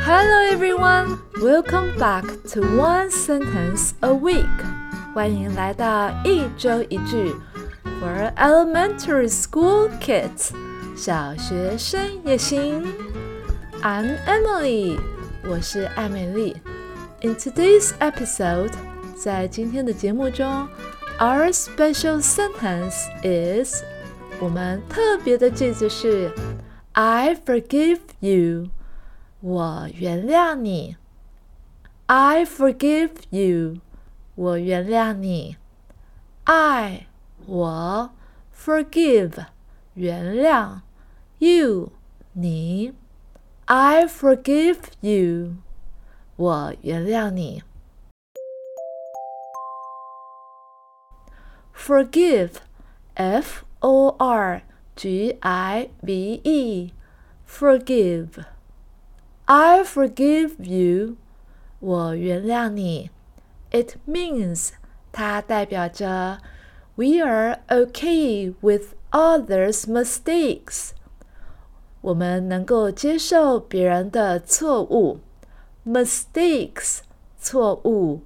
Hello everyone, welcome back to One Sentence a Week. 欢迎来到一周一句 for elementary school kids. 小学生也行。I'm Emily. 我是艾美丽。In today's episode, 在今天的节目中 our special sentence is 我们特别的句子是 I forgive you. 我原谅你。I forgive you. 我原谅你。I 我 forgive 原谅 you 你。I forgive you. 我原谅你。Forgive F-O-R-G-I-V-E Forgive I forgive you 我原谅你 It means 它代表着 We are okay with others' mistakes 我们能够接受别人的错误 Mistakes 错误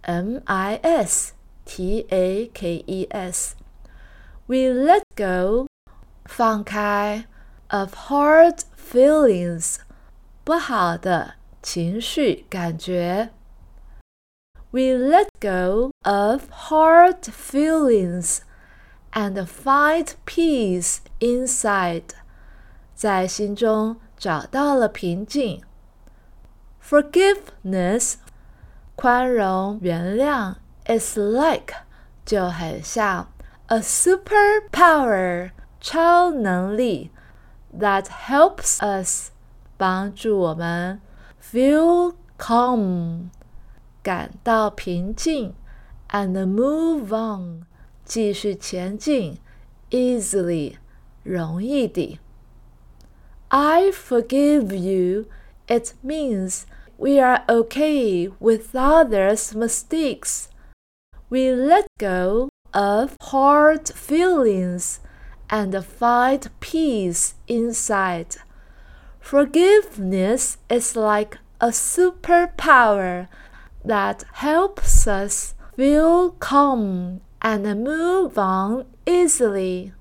M-I-S-T-A-K-E-S We let go 放开 of hard feelings 不好的情绪感觉 We let go of hard feelings and find peace inside 在心中找到了平静 Forgiveness 宽容原谅 is like 就很像 a superpower 超能力 that helps us 帮助我们 feel calm 感到平静 and move on 继续前进 easily 容易地 I forgive you It means we are okay with others' mistakes We let go of hard feelings and find peace inside. Forgiveness is like a superpower that helps us feel calm and move on easily.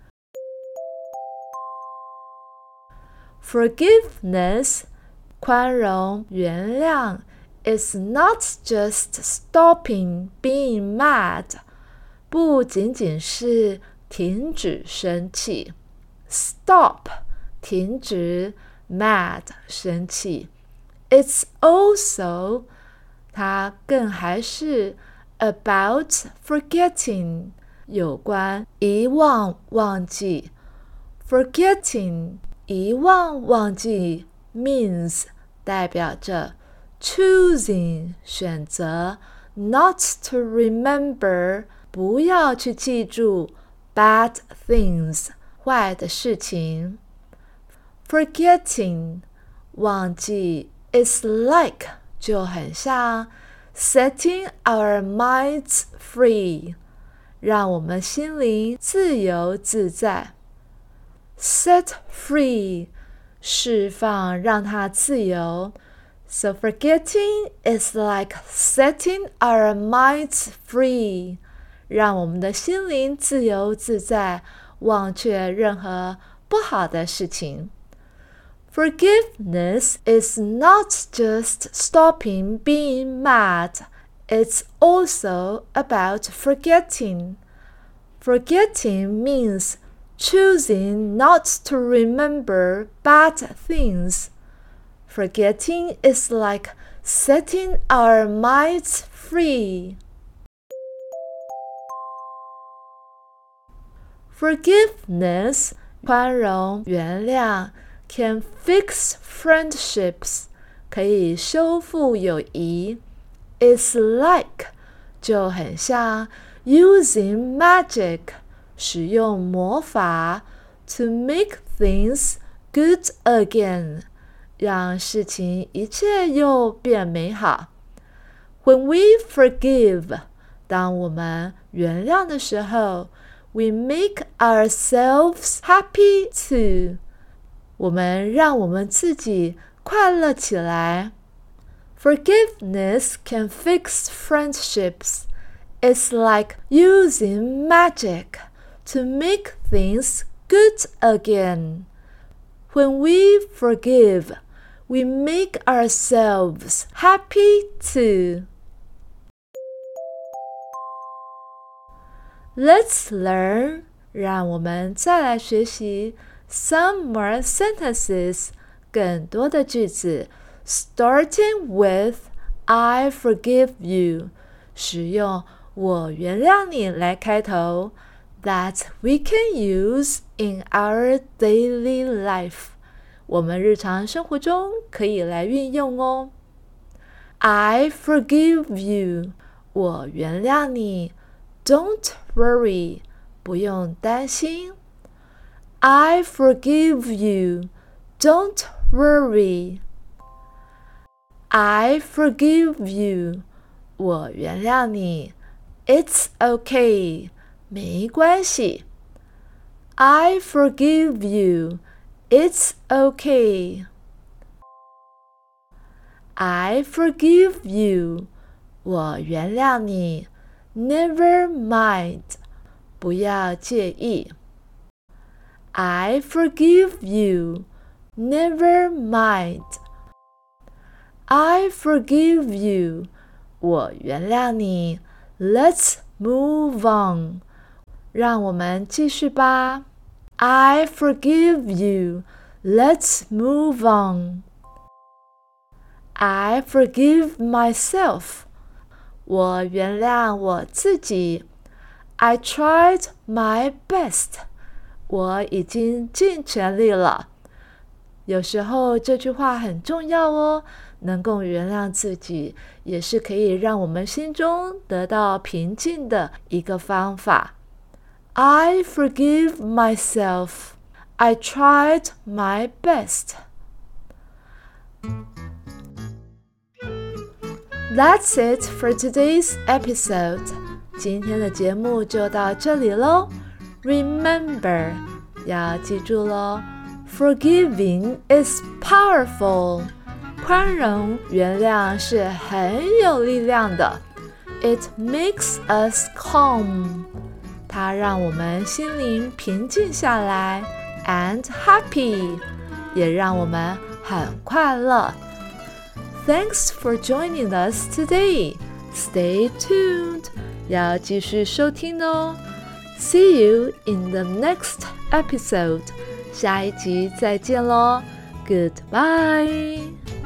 Forgiveness, 宽容原谅 is not just stopping being mad, 不仅仅是停止生气 Stop 停止 Mad 生气 It's also 它更还是 about forgetting 有关遗忘忘记 Forgetting 遗忘忘记 means 代表着 choosing 选择 not to remember 不要去记住 bad things 坏的事情 Forgetting 忘记 is like 就很像 setting our minds free 让我们心灵自由自在 set free 释放让它自由 So forgetting is like setting our minds free 让我们的心灵自由自在忘却任何不好的事情 Forgiveness is not just stopping being mad, it's also about forgetting. Forgetting means choosing not to remember bad things. Forgetting is like setting our minds free. Forgiveness, 宽容原谅 can fix friendships, 可以修复友谊 It's like, 就很像 using magic, 使用魔法 to make things good again, 让事情一切又变美好 When we forgive, 当我们原谅的时候We make ourselves happy too. 我们让我们自己快乐起来。Forgiveness can fix friendships. It's like using magic to make things good again. When we forgive, we make ourselves happy too. Let's learn. 让我们再来学习 some more sentences. 更多的句子 starting with I forgive you. 使用我原谅你来开头 that we can use in our daily life. 我们日常生活中可以来运用哦。I forgive you. 我原谅你。Don't worry. 不用担心。I forgive you. Don't worry. I forgive you. 我原谅你。It's okay. 没关系。I forgive you. It's okay. I forgive you. 我原谅你。Never mind. 不要介意。I forgive you. Never mind. I forgive you. 我原谅你。Let's move on. 让我们继续吧。I forgive you. Let's move on. I forgive myself. 我原谅我自己。I tried my best. 我已经尽全力了。有时候这句话很重要哦，能够原谅自己，也是可以让我们心中得到平静的一个方法。I forgive myself. I tried my best. That's it for today's episode. 今天的节目就到这里咯。Remember, 要记住咯， Forgiving is powerful. 宽容、原谅是很有力量的。It makes us calm. 它让我们心灵平静下来 and happy. 也让我们很快乐。Thanks for joining us today. Stay tuned. 要继续收听哦。See you in the next episode. 下一集再见咯。Goodbye.